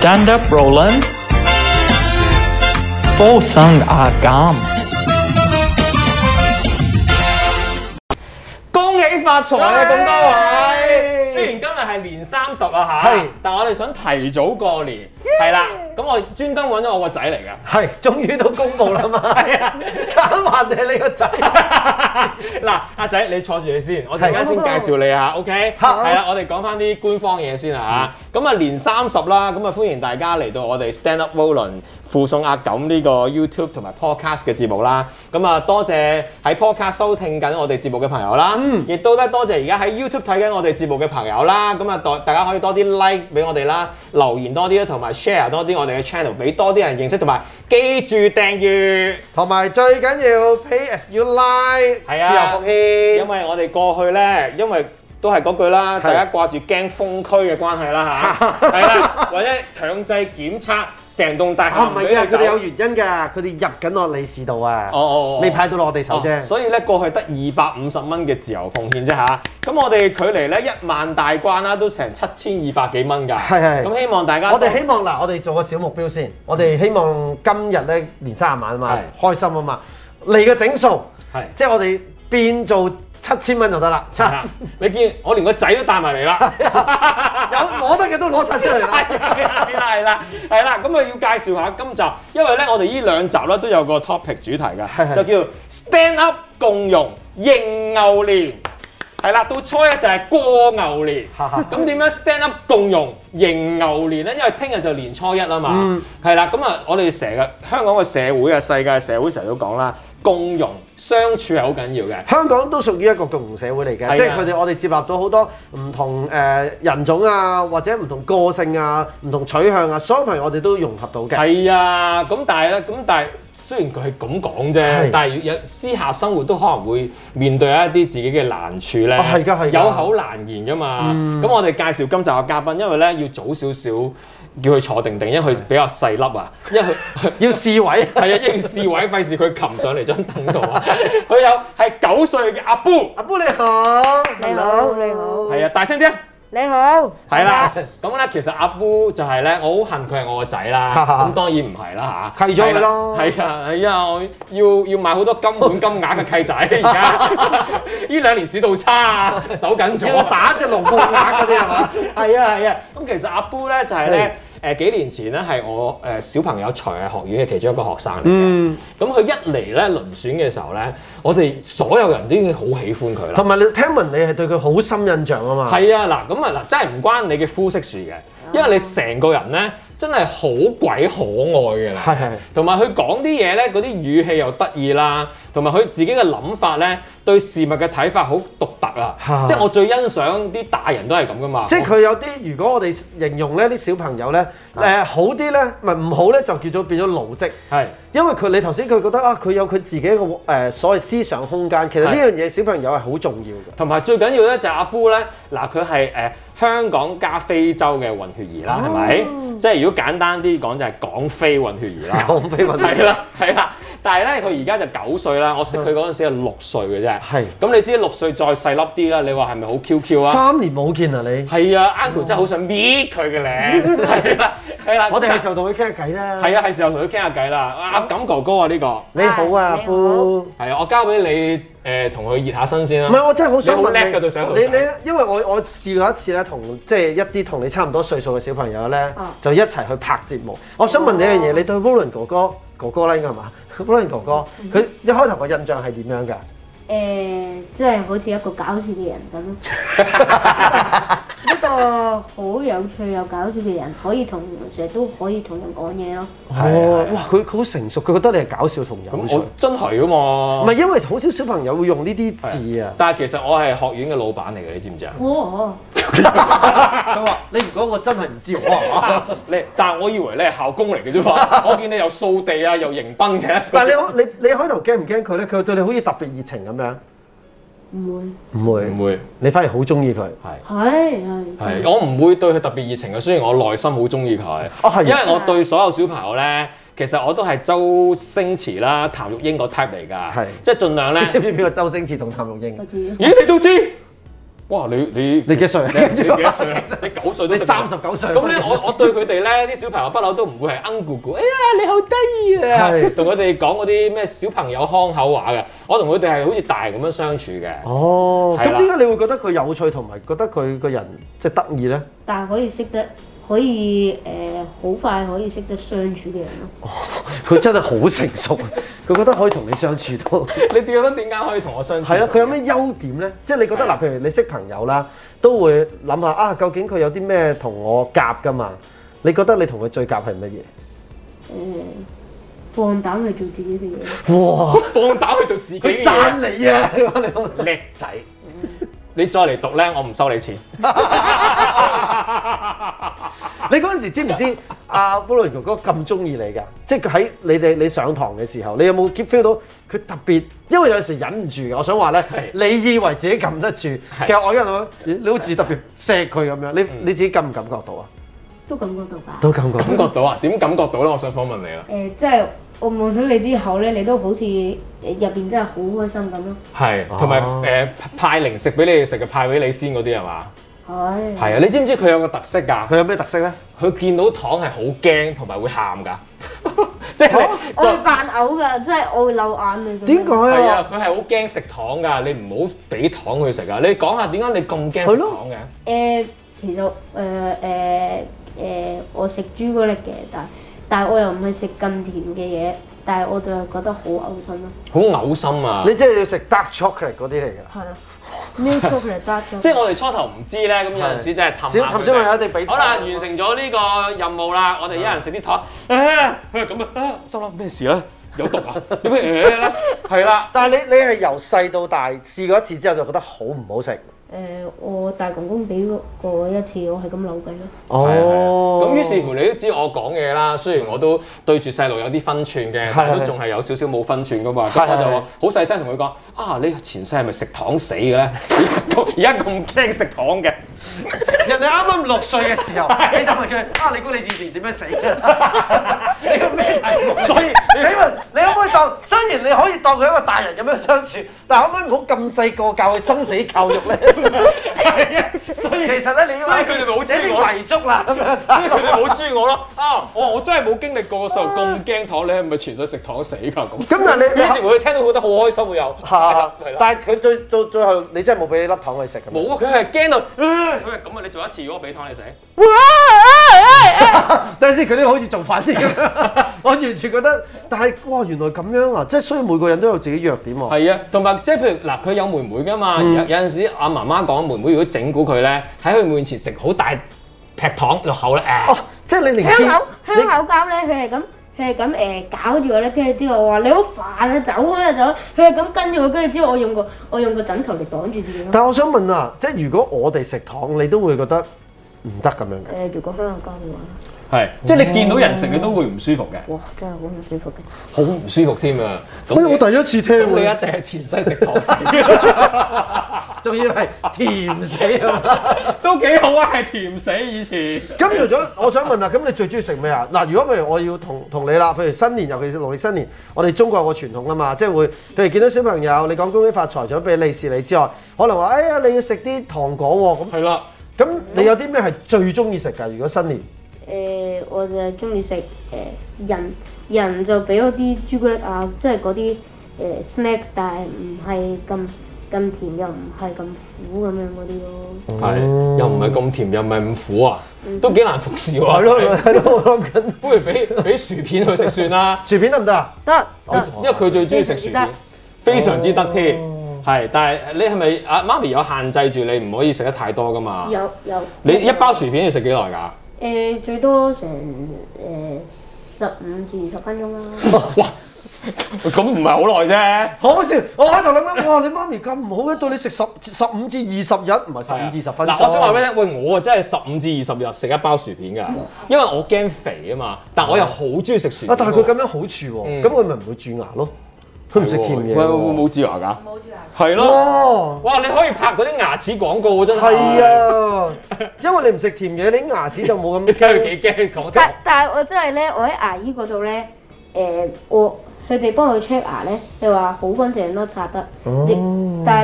Stand up, Roland。附送阿減。 恭喜發財啊！咁多位，雖然今日係年30啊嚇，但我哋想提早過年，係啦。咁我專登揾咗我個仔嚟㗎， 係，終於都公佈啦嘛。係啊，揀還定係你個仔。 嗱，阿仔你坐住你先，我陣間先介紹你嚇 ，OK？ 係啦，我哋講翻啲官方嘢先啦嚇。咁啊年30啦，咁啊歡迎大家嚟到我哋 Stand Up Roland 附送阿錦呢個 YouTube 同埋 Podcast 嘅節目啦。咁啊多謝喺 Podcast 收聽緊我哋節目嘅朋友啦，亦都咧多謝而家喺 YouTube 睇緊我哋節目嘅朋友啦。咁啊大家可以多啲 like 俾我哋啦，留言多啲啦，同埋 share 多啲我哋嘅 channel 俾多啲人認識，同埋記住訂閱， 同埋最緊要 pay as you like， 係啊， 自由奉獻。 因為我哋過去咧，因為都係嗰句啦，大家掛住驚封區嘅關係啦嚇，係啦，或者強制檢測成棟大廈唔係啊，佢哋有原因㗎，佢哋入緊落利是度啊，未派到落我哋手啫。 所以咧過去得250蚊嘅自由奉獻啫嚇，咁我哋距離咧1萬大關啦，都成7200幾蚊㗎。 係。 咁希望大家， 我哋希望嗱，我哋做個小目標先，我哋希望今日咧年30晚啊嘛，開心啊嘛，嚟嘅整數，即係我哋變做7000蚊就得啦。 你見我連個仔都帶埋嚟啦， 有攞得嘅都攞晒出嚟啦。 係啦，咁啊要介紹下今集，因為咧我哋呢2集咧都有個 topic 主題㗎，就叫 Stand Up 共融迎牛年。係啦，到初一就係過牛年，咁點樣 stand up 共融迎牛年咧？因為聽日就年初一啊嘛，係啦，咁啊，我哋成日香港嘅社會啊，世界社會成日都講啦，共融相處係好緊要嘅。 香港都屬於一個共融社會嚟嘅，即係我哋接納到好多唔同人種啊，或者唔同個性啊、唔同取向啊，所有朋友我哋都融合到嘅。 係啊，咁但係雖然佢係咁講啫，但係有私下生活都可能會面對一啲自己嘅難處咧。 係㗎， 有口難言㗎嘛。咁我哋介紹今集嘅嘉賓，因為咧要早少少叫佢坐定定，因為佢比較細粒啊，因為佢要試位。 係啊，要試位，費事佢擒上嚟張凳度啊。佢有係9歲嘅阿 Boo， 阿 Boo 你好， 你好，你好。 係啊，大聲啲啊！ 你好， 係啦，咁咧其實阿 Boo 就係咧，我好恨佢係我個仔啦，咁當然唔係啦嚇， 契咗佢咯， 係啊，我要買好多金本金額嘅契仔，而家呢2年市道差啊，手緊咗， 要打隻龍鳳鈪嗰啲係嘛？ 係啊，咁其實阿 Boo 咧就係咧。幾年前咧係我小朋友才藝學院嘅其中一個學生嚟嘅，咁佢一嚟咧遴選嘅時候咧，我哋所有人都已經好喜歡佢啦。 同埋你聽聞你係對佢好深印象啊嘛。 係啊，嗱真係唔關你嘅膚色事嘅，因為你成個人咧真係好鬼可愛嘅啦。係。同埋佢講啲嘢咧，嗰啲語氣又得意啦，同埋佢自己嘅諗法咧，對事物嘅睇法好獨特啊。即係我最欣賞啲大人都係咁噶嘛。 即係佢有啲，如果我哋形容咧啲小朋友咧，好啲咧，唔好咧就叫做變咗奴職。係。因為你頭先佢覺得啊，佢有佢自己一個所謂思想空間，其實呢樣嘢小朋友係好重要嘅。 同埋最緊要咧就係阿 Boo 咧，嗱佢係香港加非洲嘅混血兒啦，係咪？即係如果簡單啲講就係港非混血兒啦。 港非混血兒係啦，但係咧佢而家就9歲啦，我識佢嗰陣時係6歲嘅啫。係。咁你知6歲再細粒啲啦，你話係咪好 QQ 啊 ？3年冇見啊你。 係啊 ，Uncle 真係好想搣佢嘅咧。係啦。 我哋係時候同佢傾下偈啦。 係啊，係時候同佢傾下偈啦。阿錦哥哥啊呢個。 你好啊，阿 Boo。 係啊，我交俾你同佢熱下身先啦。 唔係，我真係好想問你。 你因為我試過一次咧，同即係一啲同你差唔多歲數嘅小朋友咧，就一齊去拍節目。我想問你一樣嘢，你對 Roland 哥哥啦應該係嘛 ？Roland 哥哥，佢一開頭個印象係點樣㗎？ 即係好似一個搞笑嘅人咁咯。一個好有趣又搞笑嘅人，成日都可以同人講嘢咯。 哇！佢好成熟，佢覺得你係搞笑同有趣。 我真係㗎嘛。 唔係因為好少小朋友會用呢啲字啊。 但係其實我係學院嘅老闆嚟嘅，你知唔知啊？ 佢話：你如果我真係唔知， 但係我以為你係校工嚟嘅啫嘛。我見你又掃地啊，又迎賓嘅。 但係你開頭驚唔驚佢咧？佢對你好似特別熱情咁樣。唔會，你反而好中意佢。 係，我唔會對佢特別熱情嘅，雖然我內心好中意佢。因為我對所有小朋友咧，其實我都係周星馳啦、譚玉英個 type 嚟㗎。即係盡量咧。 你知唔知邊個周星馳同譚玉英？ 我知。 咦，你都知？ 哇！你你幾歲？ 你幾多歲啊？你9歲都你39歲。 咁咧，我對佢哋咧啲小朋友不嬲都唔會係姑姑。哎呀，你好得意啊！同佢哋講嗰啲咩小朋友腔口話嘅，我同佢哋係好似大人咁樣相處嘅。 哦，咁點解你會覺得佢有趣同埋覺得佢個人即係得意咧？ 但係可以好快可以識得相處嘅人咯。 佢真係好成熟，佢覺得可以同你相處到。 你覺得點解可以同我相處？ 係啊，佢有咩優點咧？即係你覺得嗱，譬如你識朋友啦，都會諗下啊，究竟佢有啲咩同我夾㗎嘛？你覺得你同佢最夾係乜嘢？ 放膽去做自己嘅嘢。 哇！ 放膽去做自己嘅嘢。 佢讚你啊！你叻仔。你再嚟讀咧，我唔收你錢。 你嗰陣時知唔知阿保倫哥哥咁中意你㗎？即係佢喺你上堂嘅時候，你有冇 feel 到佢特別？因為有陣時忍唔住嘅，我想話咧，你以為自己撳得住，其實我而家諗，你好似特別錫佢咁樣，你自己感唔感覺到啊？ 都感覺到㗎。 都感覺到啊？點感覺到咧？我想訪問你啦。 即係我望到你之後咧，你都好似入邊真係好開心咁咯。 係，同埋派零食俾你哋食嘅，派俾你先嗰啲係嘛？ 係。 係啊，你知唔知佢有個特色㗎？ 佢有咩特色咧？ 佢見到糖係好驚，同埋會喊㗎。即係我會扮嘔㗎，即係我會流眼淚。 點解啊？ 係啊，佢係好驚食糖㗎，你唔好俾糖佢食啊！你講下點解你咁驚食糖嘅？ 其實我食朱古力嘅，但係我又唔係食咁甜嘅嘢，但係我就覺得好嘔心咯。 好嘔心啊！ 你真係要食 dark chocolate 嗰啲嚟㗎？ 係啊 milk chocolate dark chocolate。 即係我哋初頭唔知咧，咁有陣時真係氹小朋友一定俾。 好啦，完成咗呢個任務啦，我哋一人食啲糖。佢係咁啊！心諗咩事咧？有毒啊？點解咧？係啦。 但係你係由細到大試過一次之後就覺得好唔好食？ 我大公公俾過一次，我係咁扭計咯。 哦， 咁於是乎你都知我講嘢啦。雖然我都對住細路有啲分寸嘅，但係都仲係有少少冇分寸噶嘛。咁我就話好細聲同佢講：啊，你前世係咪食糖死嘅咧？而家咁驚食糖嘅。 人哋啱啱6歲嘅時候，你就問佢：啊，你估你以前點樣死嘅？你個咩題目？所以請問你可唔可以當？雖然你可以當佢一個大人咁樣相處，但可唔可以唔好咁細個教佢生死教育咧？係啊，所以其實咧，你所以佢哋咪好中意我遺囑啦咁樣， 所以佢哋好中意我咯。啊，我真係冇經歷過嘅時候咁驚糖，你係咪前世食糖死㗎咁？ 咁但係你於是乎佢聽到覺得好開心喎又。 係，但係佢最後你真係冇俾你粒糖佢食㗎？ 冇啊，佢係驚到，佢係咁啊！你做一次，如果俾糖你食， 等陣先，佢呢個好似做反應咁樣，我完全覺得，但係哇，原來咁樣啊！即係所以每個人都有自己弱點喎。 係啊，同埋即係譬如嗱，佢有妹妹㗎嘛，有陣時阿媽媽講妹妹如果整蠱佢咧，喺佢面前食好大劈糖落口咧， 哦，即係你連香口膠咧，佢係咁搞住我咧，跟住之後我話你好煩啊，走開啊走開，佢係咁跟住我，跟住之後我用個枕頭嚟擋住自己咯。 但係我想問啊，即係如果我哋食糖，你都會覺得唔得咁樣嘅？ 如果香口膠嘅話， 係即係你見到人食你都會唔舒服嘅， 哇，真係好唔舒服嘅， 好唔舒服添啊！ 我第一次聽你一定係前世食糖死， 仲要係甜死啊！ 都幾好啊，係甜死以前。 咁除咗，我想問啊，咁你最中意食咩啊？嗱，如果譬如我要同你啦，譬如新年，尤其是農曆新年，我哋中國有個傳統啊嘛，即係會，譬如見到小朋友，你講恭喜發財，除咗俾利是你之外，可能話，哎呀，你要食啲糖果喎，咁係啦。 咁你有啲咩係最中意食㗎？如果新年？ 我就係中意食人就俾嗰啲朱古力啊，即係嗰啲snacks，但係唔係咁甜又唔係咁苦咁樣嗰啲咯。 係，又唔係咁甜又唔係咁苦啊，都幾難服侍喎。 係咯，我諗緊， 不如俾薯片佢食算啦。 薯片得唔得啊？ 得， 因為佢最中意食薯片，非常之得添。係，但係你係咪阿媽咪有限制住你唔可以食得太多㗎嘛？ 有。 你一包薯片要食幾耐㗎？ 最多成15至20分鐘啦。 哇！咁唔係好耐啫。 好笑！我喺度諗緊，哇！你媽咪咁唔好嘅，對你食15至20日，唔係15至20分鐘。 嗱，我想話俾你聽，喂，我啊真係15至20日食一包薯片㗎，因為我驚肥啊嘛，但我又好中意食薯片。 但係佢咁樣好處喎，咁佢咪唔會蛀牙咯？佢唔食甜嘢。 喂，冇蛀牙㗎？冇蛀牙。係咯。哇！你可以拍嗰啲牙齒廣告真係。 係啊，因為你唔食甜嘢，你啲牙齒就冇咁。 你睇佢幾驚講聽。 但係我真係咧，我喺牙醫嗰度咧，佢哋幫佢 check 牙咧，佢話好乾淨咯，刷得。但係咧，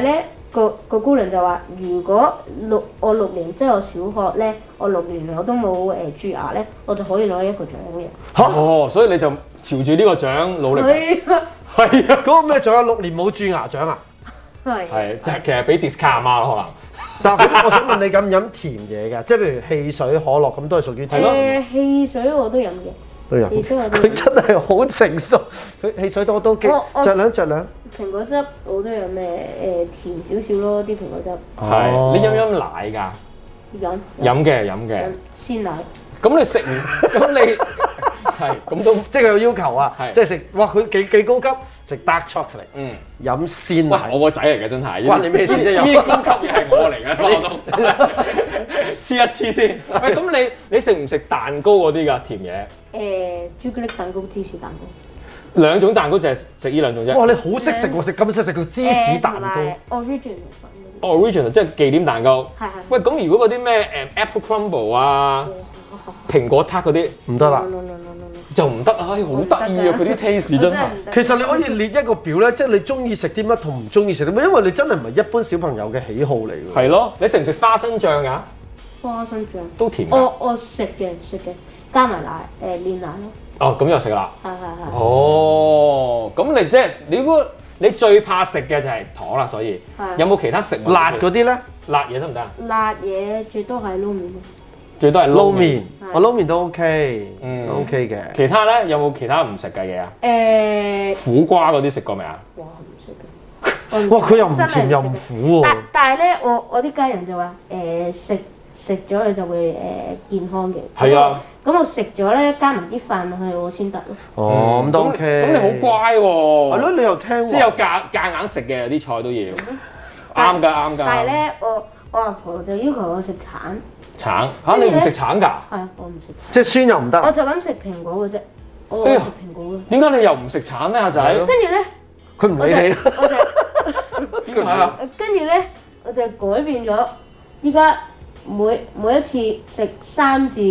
個姑娘就話：如果我6年即係我小學咧，我6年我都冇蛀牙咧，我就可以攞一個獎嘅。 哦，所以你就朝住呢個獎努力。 係啊， 係啊， 嗰個咩獎啊？6年冇蛀牙獎啊？ 係即係其實俾 discount 啊可能。 但係我想問你飲唔飲甜嘢㗎？即係譬如汽水、可樂咁都係屬於甜。 汽水我都飲嘅。 都有。佢真係好成熟，佢汽水多都幾酌兩。 蘋果汁我都有咩甜少少咯，啲蘋果汁。 係，你飲奶㗎？飲嘅。 鮮奶。 咁你食唔？咁你係咁都即係佢有要求啊！即係食哇，佢幾高級，食 dark chocolate，飲鮮奶。 我個仔嚟嘅真係， 關你咩事啫？ 呢啲高級嘢係我嚟嘅，我都黐一黐先。喂，咁你食唔食蛋糕嗰啲㗎？甜嘢？ 朱古力蛋糕、芝士蛋糕。 兩種蛋糕就係食呢兩種啫。 哇！你好識食喎，食咁識食個芝士蛋糕。 Original 即係忌廉蛋糕。 係。 喂，咁如果嗰啲咩apple crumble 啊、蘋果撻嗰啲唔得啦， 就唔得啊！好得意啊！佢啲 taste 真係。 其實你可以列一個表咧，即係你中意食啲乜同唔中意食啲乜，因為你真係唔係一般小朋友嘅喜好嚟㗎。 係咯，你食唔食花生醬㗎？ 花生醬都甜㗎。 我食嘅，加埋奶煉奶咯。 哦，咁又食啦。 係。 哦，咁你即係你最怕食嘅就係糖啦，所以有冇其他食物？ 辣嗰啲咧？ 辣嘢得唔得啊？ 辣嘢最多係撈麵。 最多係撈麵， 我撈麵都 OK，都 OK 嘅。 其他咧有冇其他唔食嘅嘢啊？苦瓜嗰啲食過未啊？ 哇，唔食嘅。 哇，佢又唔甜又唔苦喎。 但係咧，我啲家人就話食咗你就會健康嘅。 係啊。 咁我食咗咧，加埋啲飯落去我先得咯。 哦，咁都 OK。 咁你好乖喎。 係咯，你又聽。 即係有夾硬食嘅，有啲菜都要。啱㗎。 但係咧，我阿婆就要求我食橙。 橙嚇你唔食橙㗎？ 係啊，我唔食橙。 即係酸又唔得。 我就咁食蘋果嘅啫，我食蘋果嘅。 點解你又唔食橙咧，阿仔？ 跟住咧， 佢唔理你。 我就點解啊？ 跟住咧，我就改變咗，依家每一次食3至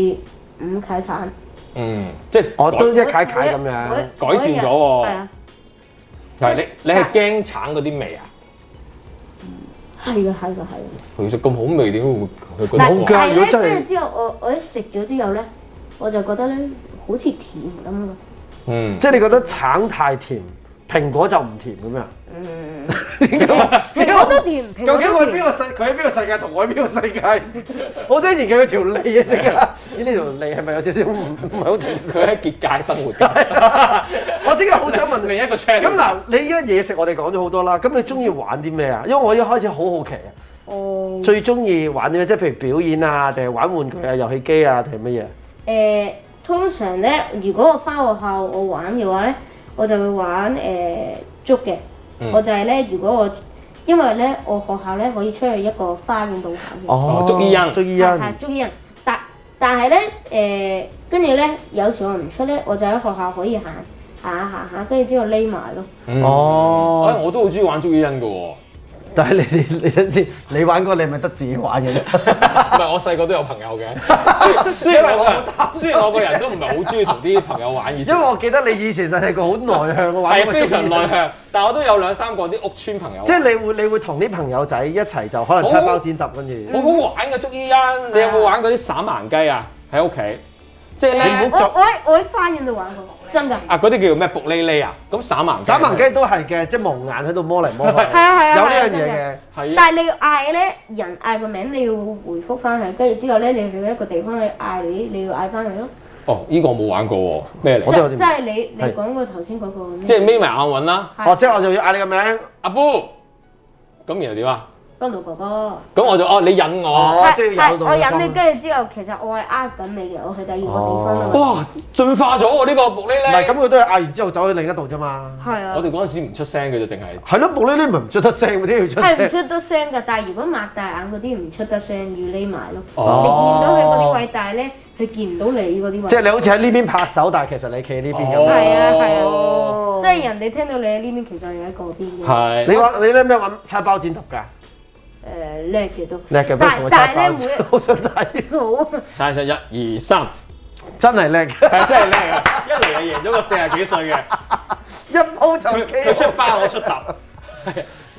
5塊橙。 即係我都一塊塊咁樣。 改善咗喎。係啊。係你係驚橙嗰啲味啊？ 係㗎。 其實咁好味點會覺得好㗎？如果真係跟住之後，我一食咗之後咧，我就覺得咧好似甜咁㗎。 即係你覺得橙太甜，蘋果就唔甜咁樣？ 蘋果都甜。 究竟佢喺邊個世？佢喺邊個世界同我喺邊個世界？我想研究佢條脷啊！即刻，呢條脷係咪有少少唔係好正常？ 佢喺結界生活㗎。 我即刻好想問另一個 channel。 咁嗱，你而家嘢食我哋講咗好多啦，咁你中意玩啲咩啊？因為我一開始好好奇啊。最中意玩啲咩？即係譬如表演啊，定係玩玩具啊、遊戲機啊，定係乜嘢？ 通常咧，如果我翻學校我玩嘅話咧，我就會玩捉嘅。我就係咧，如果因為咧我學校咧可以出去一個花園度玩嘅。 捉伊人。 係捉伊人，但係咧跟住咧有時我唔出咧，我就喺學校可以行下，跟住之後匿埋咯。 我都好中意玩捉伊人㗎喎。 但係你等先，你玩過你咪得自己玩嘅啫。 唔係，我細個都有朋友嘅。雖然我個人都唔係好中意同啲朋友玩以前。 因為我記得你以前就係個好內向嘅玩。 係非常內向，但係我都有2-3個啲屋村朋友。 即係你會同啲朋友仔一齊就可能猜包剪揼跟住。 好好玩嘅捉伊人，你有冇玩嗰啲散盲雞啊？喺屋企，即係咧。 我喺花園度玩過。真㗎。 嗰啲叫做咩？卜哩哩啊！咁散盲雞都係嘅，即係蒙眼喺度摸嚟摸去。 係啊， 有呢樣嘢嘅。 係。 但係你要嗌咧，人嗌個名，你要回覆翻佢，跟住之後咧，你去一個地方去嗌你要嗌翻佢咯。 哦，呢個我冇玩過喎，咩嚟？ 即係你講過頭先嗰個。 即係眯埋眼揾啦。 即係我就要嗌你個名， 阿 Boo。咁然後點啊？ 幫到哥哥。 咁我就你引我。 即係我引你，跟住之後其實我係呃緊你嘅，我去第二個地方啊。 哇！進化咗喎呢個卜哩哩。 唔係，咁佢都係嗌完之後走去另一度啫嘛。 係啊。 我哋嗰陣時唔出聲嘅啫，淨係。 係咯，卜哩哩咪唔出得聲，點要出聲？ 係唔出得聲㗎，但係如果擘大眼嗰啲唔出得聲，要匿埋咯。你見到佢嗰啲位，但係咧佢見唔到你嗰啲位。 即係你好似喺呢邊拍手，但係其實你企喺呢邊咁。 係啊，即係人哋聽到你喺呢邊，其實係喺嗰邊嘅。 係。 你咧咩玩猜包剪揼㗎？ 叻嘅都， 叻嘅， 但係咧好想睇。 好。 猜1、2、3， 真係叻， 係真係叻啊！一嚟就贏咗個40幾歲嘅， 一鋪就佢出包我出揼。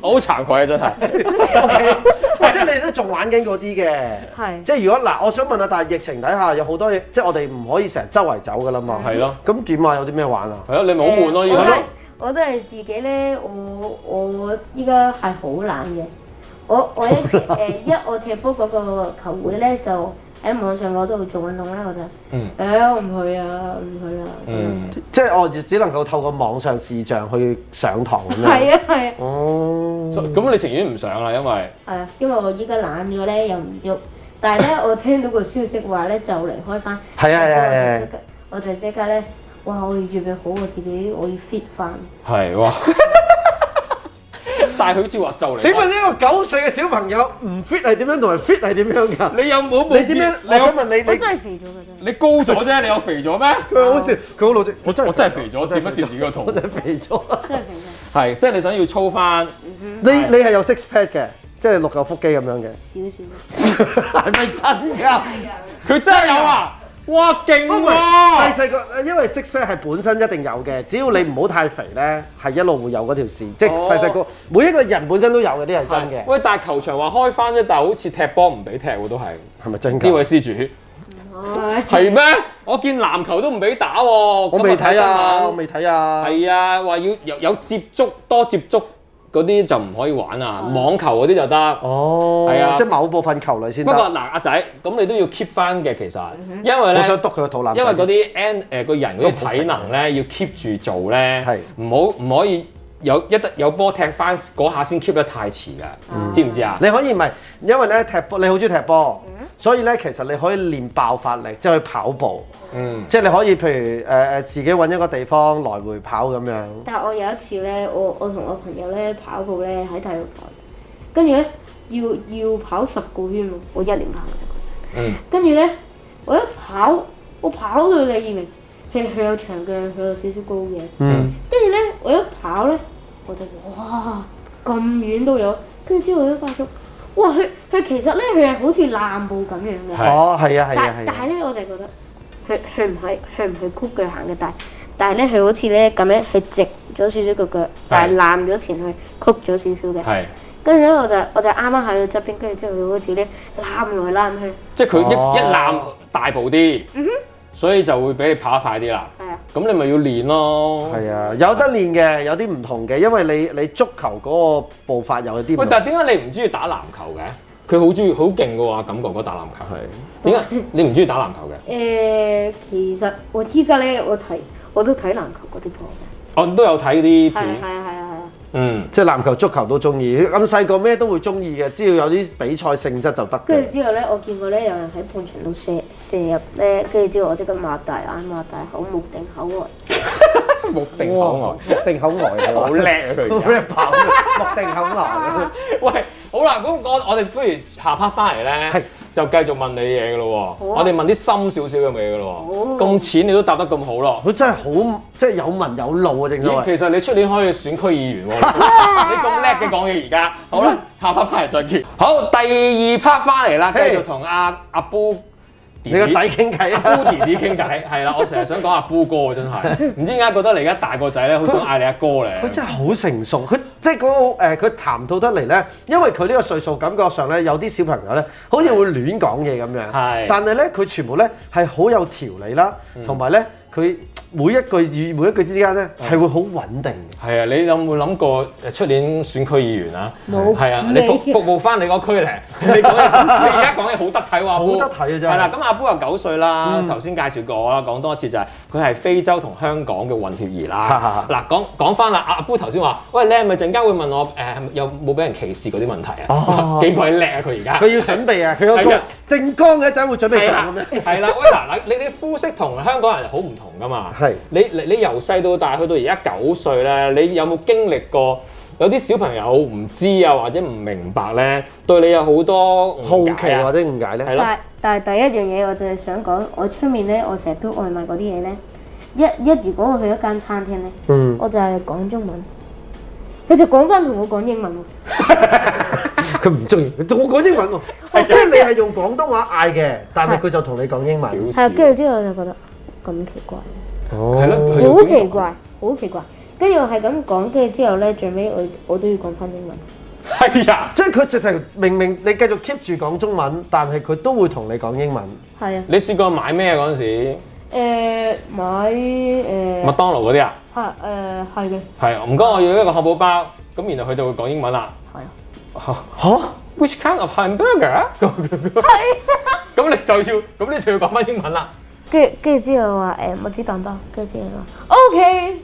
我好慚愧啊，真係。 OK， 即係你哋都仲玩緊嗰啲嘅。 係。 即係如果嗱，我想問下，但係疫情底下有好多嘢，即係我哋唔可以成日周圍走㗎啦嘛。 係咯。 咁點啊？有啲咩玩啊？ 係咯，你咪好悶咯，依家。 我都係自己咧，我依家係好懶嘅。我我踢波嗰個球會咧，就喺網上嗰度做運動啦，我就我唔去啊，唔去啦。 即係我只能夠透過網上視像去上堂咁樣。 係啊。 哦。 咁你情願唔上啦，因為係啊，因為我依家懶咗咧，又唔喐。但係咧，我聽到個消息話咧，就嚟開翻。 係啊。 我就即刻咧，哇！我要預備好我自己，我要 fit 翻。 係哇！但係佢好似話就嚟。請問呢個9歲嘅小朋友唔 fit 係點樣，同埋 fit 係點樣㗎？ 你有冇？ 你點樣？我想問你， 我真係肥咗㗎真。 你高咗啫，你有肥咗咩？ 佢好笑，佢好老實。我真係肥咗，掂一掂自己個肚。 我真係肥咗。 真係肥咗。 係，即係你想要操翻。 你係有 six pack 嘅，即係6嚿腹肌咁樣嘅。 少。 係咪真㗎？ 佢真係有啊！哇，勁喎！ 細個，因為 six pack 係本身一定有嘅，只要你唔好太肥咧，係一路會有嗰條線。即係細個，每一個人本身都有嘅，啲係真嘅。 喂，但係球場話開翻啫，但係好似踢波唔俾踢喎，都係。 係咪真㗎？ 呢位施主。係咩？我見籃球都唔俾打喎。 我未睇啊！我未睇啊！ 係啊，話要有接觸，多接觸。嗰啲就唔可以玩啊，網球嗰啲就得。 哦，係啊，即係某部分球類先得。 不過嗱，阿仔，咁你都要 keep 翻嘅其實，因為咧， 我想篤佢個肚腩。 因為嗰啲個人嗰啲體能咧，要 keep 住做咧，唔可以有波踢翻嗰下先 keep 得太遲㗎，知唔知啊？ 你可以唔係，因為咧踢波，你好中意踢波，所以咧其實你可以練爆發力，即係去跑步。即係你可以譬如自己揾一個地方來回跑咁樣。 但係我有一次咧，我同我朋友咧跑步咧喺體育台，跟住咧要跑10個圈喎，我1年跑嘅啫。跟住咧我一跑，我跑到你以為佢有長嘅，佢有少少高嘅。跟住咧我一跑咧，我就哇咁遠都有，跟住之後我一發覺，哇佢其實咧佢係好似爛步咁樣嘅。 哦，係啊。 但係咧我就覺得。佢唔係曲腳行嘅，但係咧佢好似咧咁樣，佢直咗少少個腳，但係攬咗前去，曲咗少少嘅。係。跟住咧我就啱啱喺佢側邊，跟住之後佢好似咧攬來攬去。即係佢一攬大步啲，所以就會俾你跑得快啲啦。係啊。咁你咪要練咯。係啊，有得練嘅，有啲唔同嘅，因為你足球嗰個步伐有啲唔同。 喂，但係點解你唔中意打籃球嘅？佢好中意，好勁嘅喎，感覺嗰打籃球係。點解你唔中意打籃球嘅？ 其實我依家咧，我都睇籃球嗰啲波嘅。 我都有睇啲片。 係啊。 即係籃球、足球都中意。咁細個咩都會中意嘅，只要有啲比賽性質就得。 跟住之後咧，我見過咧有人喺半場度射入咧，跟住之後我即刻擘大眼、擘大口、目定口呆。 目定口呆， 目定口呆， 好叻啊佢！ 目定口呆。 喂，好啦，咁我哋不如下 part 翻嚟咧，就繼續問你嘢嘅咯喎。我哋問啲深少少嘅嘢嘅咯喎。咁淺你都答得咁好咯。佢真係好，即係有文有路啊！正所謂。其實你出年可以選區議員喎。你咁叻嘅講嘢而家。好啦，下 part 翻嚟再見。好，第2 part 翻嚟啦，繼續同阿 Boo。 你個仔傾偈啊 ，Boo 弟弟傾偈，係啦，我成日想講阿 Boo 哥真係，唔知點解覺得你而家大個仔咧，好想嗌你阿哥咧。 佢真係好成熟，佢即係嗰個佢談吐得嚟咧，因為佢呢個歲數感覺上咧，有啲小朋友咧，好似會亂講嘢咁樣。係。但係咧，佢全部咧係好有條理啦，同埋咧佢。每一句與每一句之間咧係會好穩定嘅。係啊，你有冇諗過出年選區議員啊？冇。係啊，你服務翻你個區咧。你而家講嘢好得體喎，好得體啊真係。係啦，咁阿 Boo 又9歲啦，頭先介紹過啦，講多一次就係佢係非洲同香港嘅混血兒啦。嗱，講翻啦，阿 Boo 頭先話，喂，你係咪陣間會問我有冇俾人歧視嗰啲問題啊？哦，幾鬼叻啊佢而家。佢要準備啊，佢有個政綱嘅一陣會準備上咁樣。係啦，喂嗱，你膚色同香港人好唔同噶嘛？係，你由細到大去到而家9歲咧，你有冇經歷過有啲小朋友唔知啊或者唔明白咧，對你有好多好奇或者誤解咧？係咯。但係第一樣嘢我就係想講，我出面咧，我成日都外賣嗰啲嘢咧，如果我去一間餐廳咧，我就係講中文，佢就講翻同我講英文喎。佢唔中意，同我講英文喎，即係你係用廣東話嗌嘅，但係佢就同你講英文。係，跟住之後我就覺得咁奇怪。哦，係咯，好奇怪，好奇怪。 跟住我係咁講，跟住之後咧，最尾我都要講翻英文。 係啊， 即係佢直情明你繼續 keep 住講中文，但係佢都會同你講英文。 係啊。 你試過買咩嗰陣時？ 買麥當勞嗰啲啊？ 係嘅。 係，唔該，我要一個漢堡包，咁然後佢就會講英文啦。 係啊。 嚇 ？Which kind of hamburger？係。咁你就要講翻英文啦。 跟住之後話麥子蛋包，跟住之後話 OK。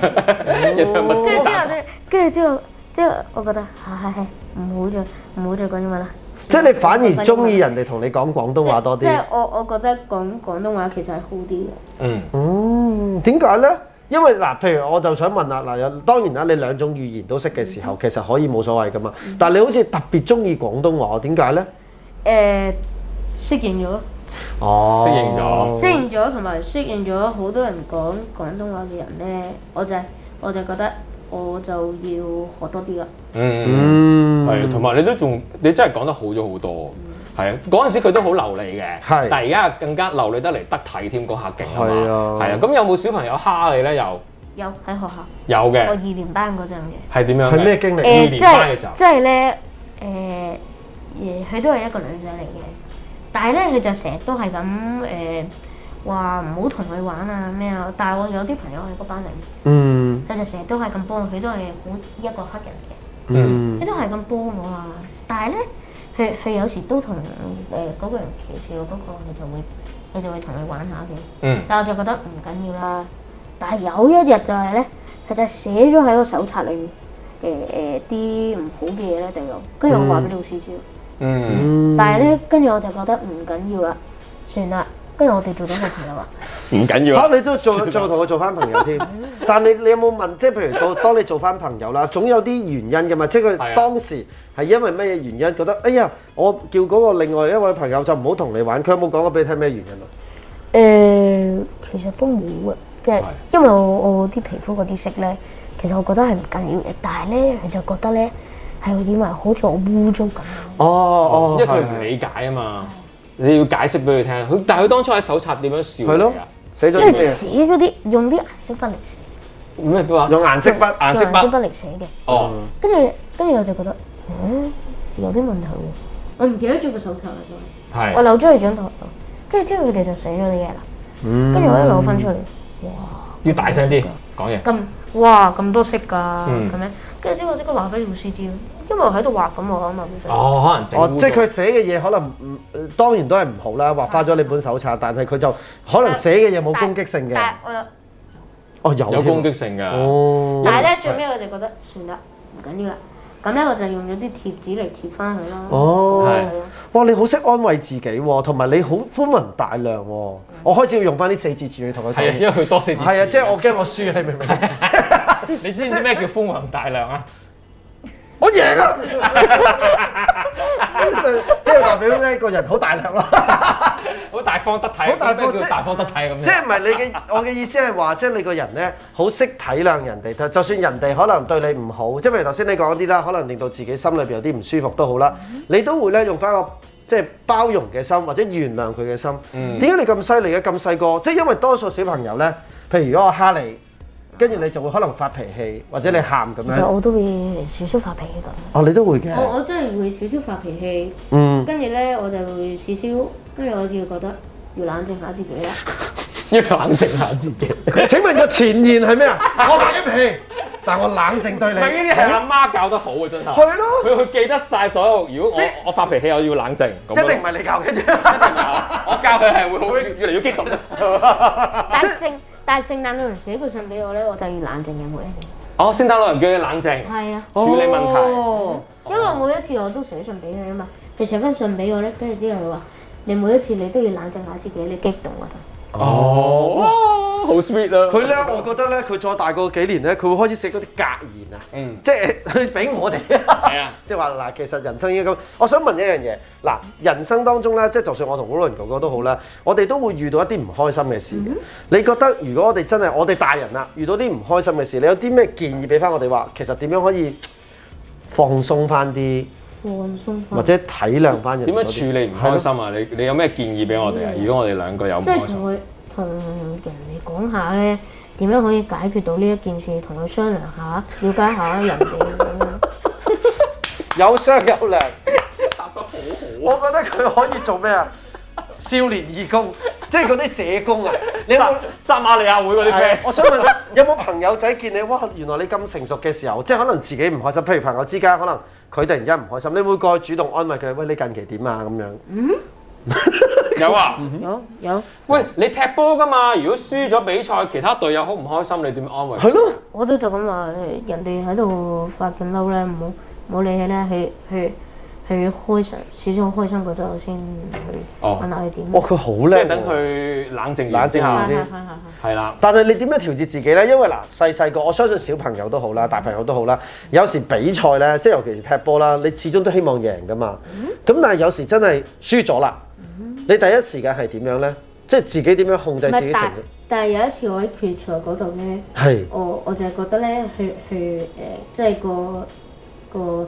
跟住之後我覺得係唔好再講英文啦。 即係你反而中意人哋同你講廣東話多啲。 即係我覺得講廣東話其實係好啲嘅。 點解咧？因為嗱，譬如我就想問啦，嗱，當然啦，你兩種語言都識嘅時候，其實可以冇所謂噶嘛。但係你好似特別中意廣東話，點解咧？ 適應咗。 哦， 適應咗， 同埋適應咗好多人講廣東話嘅人咧，我就覺得我就要學多啲啦。 係，同埋你真係講得好咗好多。係啊，嗰陣時佢都好流利嘅，但係而家更加流利得嚟得體添，嗰下勁啊嘛。係啊，咁有冇小朋友蝦你咧？ 有喺學校。 有嘅。 我2年班嗰陣嘅。 係點樣？ 係咩經歷？ 2年班嘅時候。 即係咧，佢都係一個女仔嚟嘅。但係咧，佢就成日都係咁話唔好同佢玩啊咩啊！但係我有啲朋友係嗰班嚟，佢就成日都係咁幫我，佢都係好一個黑人嘅，佢都係咁幫我啊！但係咧，佢有時都同嗰個人歧視我嗰個，佢就會同佢玩下嘅。但係我就覺得唔緊要啦。但係有一日就係咧，佢就寫咗喺個手冊裏面啲唔好嘅嘢咧，就有跟住我話俾老師知。但係咧，跟住我就覺得唔緊要啦，算啦。跟住我哋做咗個朋友啊， 唔緊要你都做同佢做翻朋友添。但係你有冇問，即係譬如當你做翻朋友啦，總有啲原因㗎嘛。即係佢當時係因為乜嘢原因覺得，哎呀，我叫嗰個另外一位朋友就唔好同你玩。佢有冇講過俾你聽咩原因啊？ 其實都冇嘅，即係因為我啲皮膚嗰啲色咧，其實我覺得係唔緊要嘅。但係咧，佢就覺得咧係點啊？好似我污糟咁。 因為佢唔理解啊嘛。你要解釋俾佢聽，但係佢當初喺手冊點樣笑你啊？ 寫咗即係寫咗啲用啲顏色筆嚟寫。 咩都話？ 用顏色筆嚟寫嘅。 哦。跟住我就覺得，有啲問題喎。我唔記得咗個手冊啦，就係。 係。 我留咗去張台度，跟住之後佢哋就寫咗啲嘢啦。跟住我一攞翻出嚟，哇！ 要大聲啲講嘢。 咁多色㗎，咁樣。跟住之後我即刻話俾老師知，因為我喺度畫緊我啊嘛，本身。 可能整。 即係佢寫嘅嘢可能當然都係唔好啦，畫花咗你本手冊，但係佢就可能寫嘅嘢冇攻擊性嘅。 但我有攻擊性㗎。 但係咧，最尾我就覺得算啦，唔緊要啦。咁咧我就用咗啲貼紙嚟貼翻佢啦。 哇！你好識安慰自己喎，同埋你好寬宏大量喎。我開始要用翻啲4字詞語同佢講。 係啊，因為佢多4字詞語。 係啊，即係我驚我輸，你明唔明？ 你知唔知咩叫寬宏大量啊？ 我贏啦！即係代表咧個人好大量咯， 好大方得體，好大方得體咁。 即係唔係我嘅意思係話，即係你個人咧好識體諒人哋，就算人哋可能對你唔好，即係譬如頭先你講嗰啲啦，可能令到自己心裏邊有啲唔舒服都好啦，你都會咧用翻個即係包容嘅心或者原諒佢嘅心。點解你咁犀利嘅？咁細個，即係因為多數小朋友咧，譬如如果我蝦你。跟住你就會可能發脾氣，或者你喊咁樣。 其實我都會少少發脾氣咁。 你都會嘅。 我真係會少少發脾氣。跟住咧我就會少少，跟住我就會覺得要冷靜下自己啦。 要冷靜下自己。 請問個前言係咩啊？我發緊脾氣，但我冷靜對你。 呢啲係阿媽教得好啊，真係。係咯。佢記得晒所有。如果我發脾氣，我要冷靜。一定唔係你教嘅啫。 我教佢係會好越嚟越激動。 但係聖誕老人寫句信俾我咧，我就要冷靜嘅每一次。 聖誕老人叫你冷靜。 係啊。 處理問題。 因為每一次我都寫信俾佢啊嘛，佢寫翻信俾我咧，跟住之後佢話：你每一次你都要冷靜下自己，你激動嗰陣。 好 sweet 啊！ 佢咧，我覺得咧，佢再大個幾年咧，佢會開始寫嗰啲格言啊。即係佢俾我哋。係啊。即係話嗱，其實人生應該咁。我想問一樣嘢，嗱，人生當中咧，即係就算我同好多人哥哥都好啦，我哋都會遇到一啲唔開心嘅事嘅。你覺得如果我哋真係我哋大人啦，遇到啲唔開心嘅事，你有啲咩建議俾翻我哋話，其實點樣可以放鬆翻啲？或者體諒翻人。 點樣處理唔開心啊？你有咩建議俾我哋啊？如果我哋兩個有唔開心， 即係同人哋講下咧， 點樣可以解決到呢一件事，同佢商量下，了解下人哋咁樣。 有商有量，答得好好。我覺得佢可以做咩啊？少年義工，即係嗰啲社工啊！你有冇撒瑪利亞會嗰啲 friend？ 我想問下，有冇朋友仔見你哇？原來你咁成熟嘅時候，即係可能自己唔開心，譬如朋友之間，可能佢突然之間唔開心，你會過去主動安慰佢，喂，你近期點啊？咁樣。 有啊， 有。 喂，你踢波㗎嘛？如果輸咗比賽，其他隊友好唔開心，你點安慰？ 係咯。 我都就咁話，人哋喺度發緊嬲咧，唔好理佢咧，去開心，少少開心嗰陣先去問下佢點。 佢好叻。 即係等佢冷靜完之後先。係啦。 但係你點樣調節自己咧？因為嗱，細個我相信小朋友都好啦，大朋友都好啦。有時比賽咧，即係尤其是踢波啦，你始終都希望贏㗎嘛。咁但係有時真係輸咗啦，你第一時間係點樣咧？即係自己點樣控制自己情緒？ 但係有一次我喺決賽嗰度咧，我就係覺得咧，即係個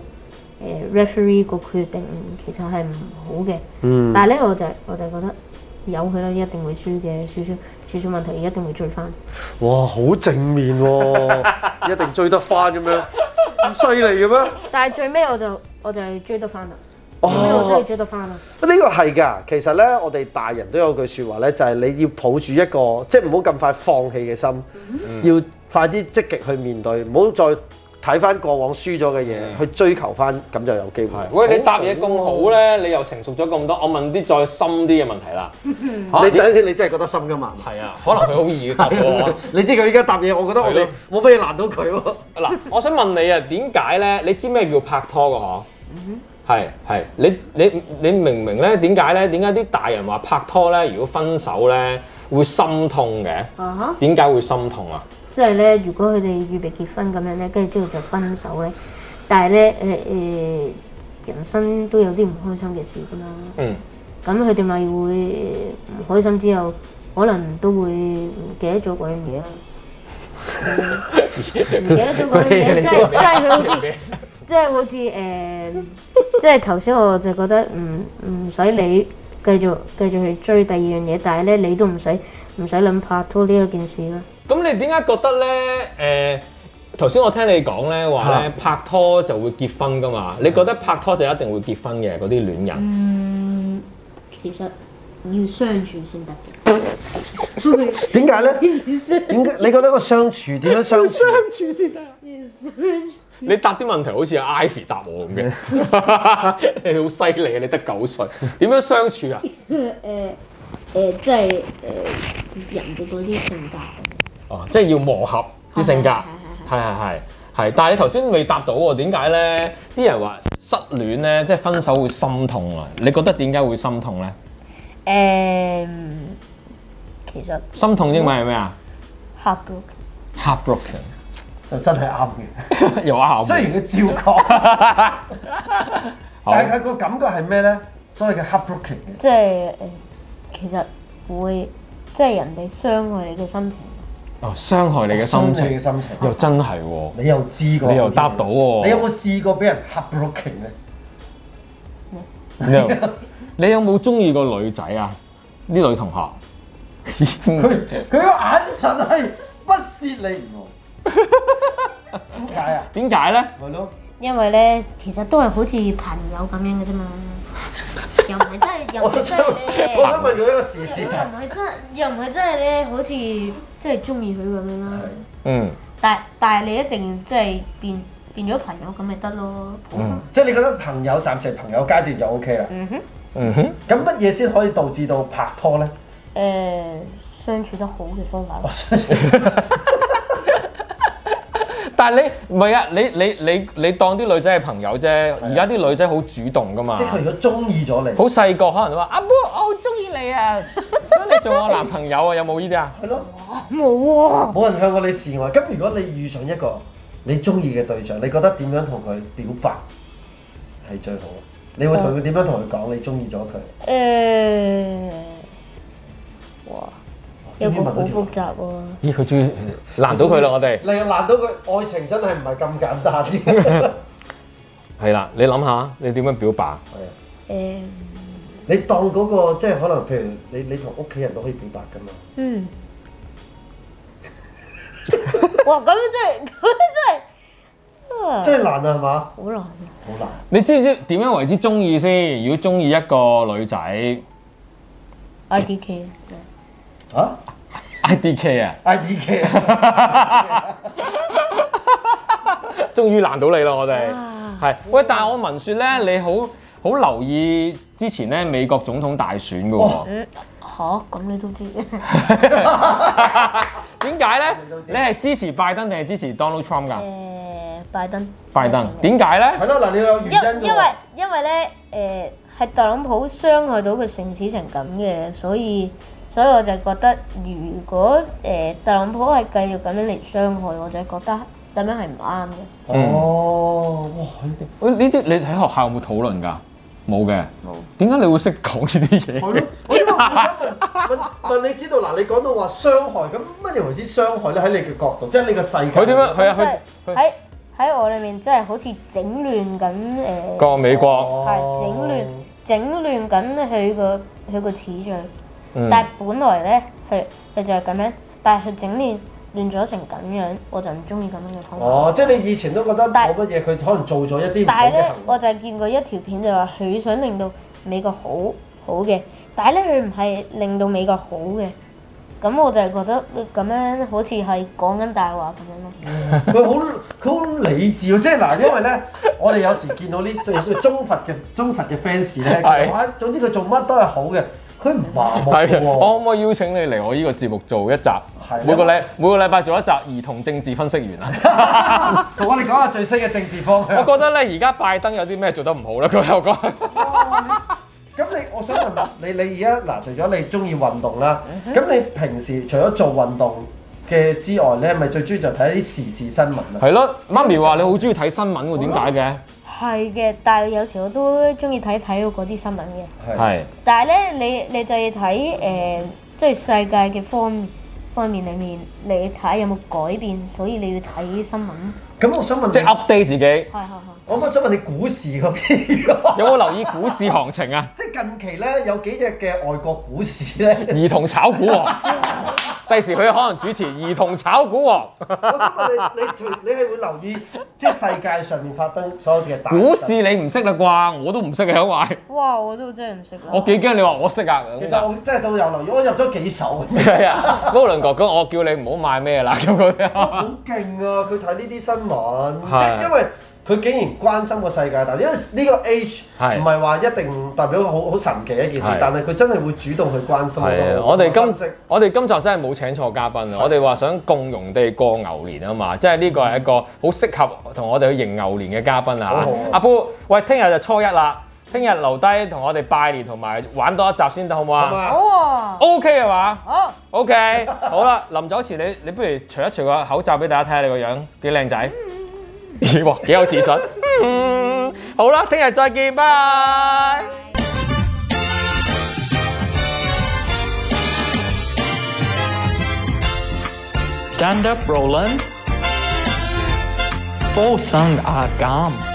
referee 個決定其實係唔好嘅。但係咧我就覺得由佢啦，一定會輸嘅，少少問題一定會追翻。 哇，好正面喎！一定追得翻咁樣，咁犀利嘅咩？ 但係最尾我就係追得翻啦。我真係追得翻啦！ 呢個係㗎，其實咧，我哋大人都有句説話咧，就係你要抱住一個即係唔好咁快放棄嘅心，要快啲積極去面對，唔好再睇翻過往輸咗嘅嘢，去追求翻，咁就有機會。 喂，你答嘢咁好咧，你又成熟咗咁多，我問啲再深啲嘅問題啦。 你等陣，你真係覺得深㗎嘛？ 係啊，可能佢好易答喎。 你知佢依家答嘢，我覺得我哋冇乜嘢難到佢喎。 嗱，我想問你啊，點解咧？你知咩叫拍拖㗎嗬？係，你明唔明咧？點解咧？點解啲大人話拍拖咧，如果分手咧會心痛嘅？點解會心痛啊？ 即係咧，如果佢哋預備結婚咁樣咧，跟住之後就分手咧，但係咧人生都有啲唔開心嘅事㗎嘛。咁佢哋咪會唔開心之後，可能都會唔記得咗嗰樣嘢啦。唔記得咗嗰樣嘢，即係佢好似。即係好似即係頭先我就覺得唔使你繼續去追第二樣嘢，但係咧你都唔使諗拍拖呢一件事啦。 咁你點解覺得咧？頭先我聽你講咧話咧拍拖就會結婚㗎嘛？你覺得拍拖就一定會結婚嘅嗰啲戀人？ 其實要相處先得。 點解咧？點解？你覺得個相處點樣相處？相處先得。 你答啲問題好似阿 Ivy 答我咁嘅，你好犀利啊！你得9歲，點樣相處啊？ 即係人哋嗰啲性格。 哦，即係要磨合啲性格，係。但係你頭先未答到喎，點解咧？啲人話失戀咧，即係分手會心痛啊！你覺得點解會心痛咧？ 其實心痛英文係咩啊 ？Heartbroken。 就真係啱嘅， 又啱。 雖然佢照講，但係佢個感覺係咩咧？所謂嘅 heartbroken 嘅， 即係其實會即係人哋傷害你嘅心情。 哦，傷害你嘅心情，又真係喎。 你又知過， 你又答到喎。 你有冇試過俾人 heartbroken 咧？你有冇中意過女仔啊？啲女同學， 佢個眼神係不屑你唔點解啊？ 點解咧？ 係咯。 因為咧，其實都係好似朋友咁樣嘅啫嘛，又唔係真係，又唔係真係咧。 我想問佢一個時事題。 又唔係真係咧，好似即係中意佢咁樣啦。 嗯。 但係你一定即係變咗朋友咁咪得咯。 即係你覺得朋友暫時朋友階段就 OK 啦。咁乜嘢先可以導致到拍拖咧？ 相處得好嘅方法。 但係你唔係啊！你當啲女仔係朋友啫。而家啲女仔好主動㗎嘛。 即係佢如果中意咗你， 好細個可能話阿 Bo， 我好中意你啊，想你做我男朋友啊，有冇呢啲啊？ 係咯。 冇喎。 冇人向過你示愛。咁如果你遇上一個你中意嘅對象，你覺得點樣同佢表白係最好？你會同佢點樣同佢講你中意咗佢？ 哇！有個好複雜喎。 咦，佢終於難到佢啦，我哋。 你又難到佢，愛情真係唔係咁簡單啲。 係啦，你諗下，你點樣表白？ 你當嗰個即係可能，譬如你同屋企人都可以表白㗎嘛。 哇！咁真係真係難啊，係嘛？ 好難啊！ 好難。 你知唔知點樣為之中意先？如果中意一個女仔 IDK 啊 ，IDK 啊， ？IDK 啊！ 終於難到你啦！我哋啊係喂，但係我聞説咧，你好留意之前咧美國總統大選嘅喎。 咁你都知點解咧？你係支持拜登定係支持 Donald Trump 㗎？ 拜登。 拜登點解咧？ 係咯，嗱，你有原因㗎喎。 因為咧係特朗普傷害到佢城市成咁嘅，所以我就覺得如果特朗普係繼續咁樣嚟傷害，我就覺得咁樣係唔啱嘅。 哦，哇！ 喂，呢啲你喺學校有冇討論㗎？冇嘅。冇。點解你會識講呢啲嘢？ 係咯，我因為我想問你知道嗱，你講到話傷害，咁乜嘢為之傷害咧？喺你嘅角度，即係你個世界。 佢點樣？係啊， 即係喺我裏面，即係好似整亂緊個美國。 係整亂緊佢個次序。但係本來咧，佢就係咁樣，但係佢整亂咗成咁樣，我就唔中意咁樣嘅方法。 哦，即係你以前都覺得冇乜嘢，佢可能做咗一啲唔好嘅行為。 但係咧，我就係見過一條片就話佢想令到美國好嘅，但係咧佢唔係令到美國好嘅。咁我就係覺得咁樣好似係講緊大話咁樣咯。 佢好理智喎，即係嗱，因為咧，我哋有時見到呢最忠實嘅 fans 咧，話總之佢做乜都係好嘅，佢唔麻木嘅喎。 我可唔可以邀請你嚟我呢個節目做一集？每個禮拜做一集兒童政治分析員啊！ 同我哋講下最新嘅政治方向。 我覺得咧，而家拜登有啲咩做得唔好咧？佢又講。 咁我想問你而家嗱，除咗你中意運動啦，咁你平時除咗做運動嘅之外，你係咪最中意就睇啲時事新聞啊？ 係咯，媽咪話你好中意睇新聞喎，點解嘅？ 係嘅，但係有時我都中意睇嗰啲新聞嘅。 係。 但係咧，你就要睇即係世界嘅方面裡面，你睇有冇改變，所以你要睇新聞。 咁我想問， 即係 update 自己。係。 我想問你股市嗰邊有冇留意股市行情啊？ 即係近期咧有幾隻嘅外國股市咧， 兒童炒股王，第時佢可能主持兒童炒股王。 我想問你係會留意即係世界上面發生所有嘅大股市你唔識啦啩？我都唔識嘅，因為哇，我都真係唔識啦。 我幾驚你話我識啊！ 其實我真係都有留意，我入咗幾手。 係啊，高倫哥哥，我叫你唔好買咩啦咁嗰啲。 好勁啊！佢睇呢啲新聞，即係因為佢竟然關心個世界大，因為呢個 age 唔係話一定代表好神奇一件事，但係佢真係會主動去關心。 我哋今集真係冇請錯嘉賓啊！我哋話想共融地過牛年啊嘛，即係呢個係一個好適合同我哋去迎牛年嘅嘉賓啊！阿布，喂，聽日就初一啦，聽日留低同我哋拜年同埋玩多一集先得，好唔好啊？ 好啊。 OK 係嘛？ 好。 OK，好啦，臨走前你不如除一除個口罩俾大家睇下你個樣幾靚仔。哇，幾有自信。好啦，聽日再見，拜。 Stand up, Roland. 附送阿減。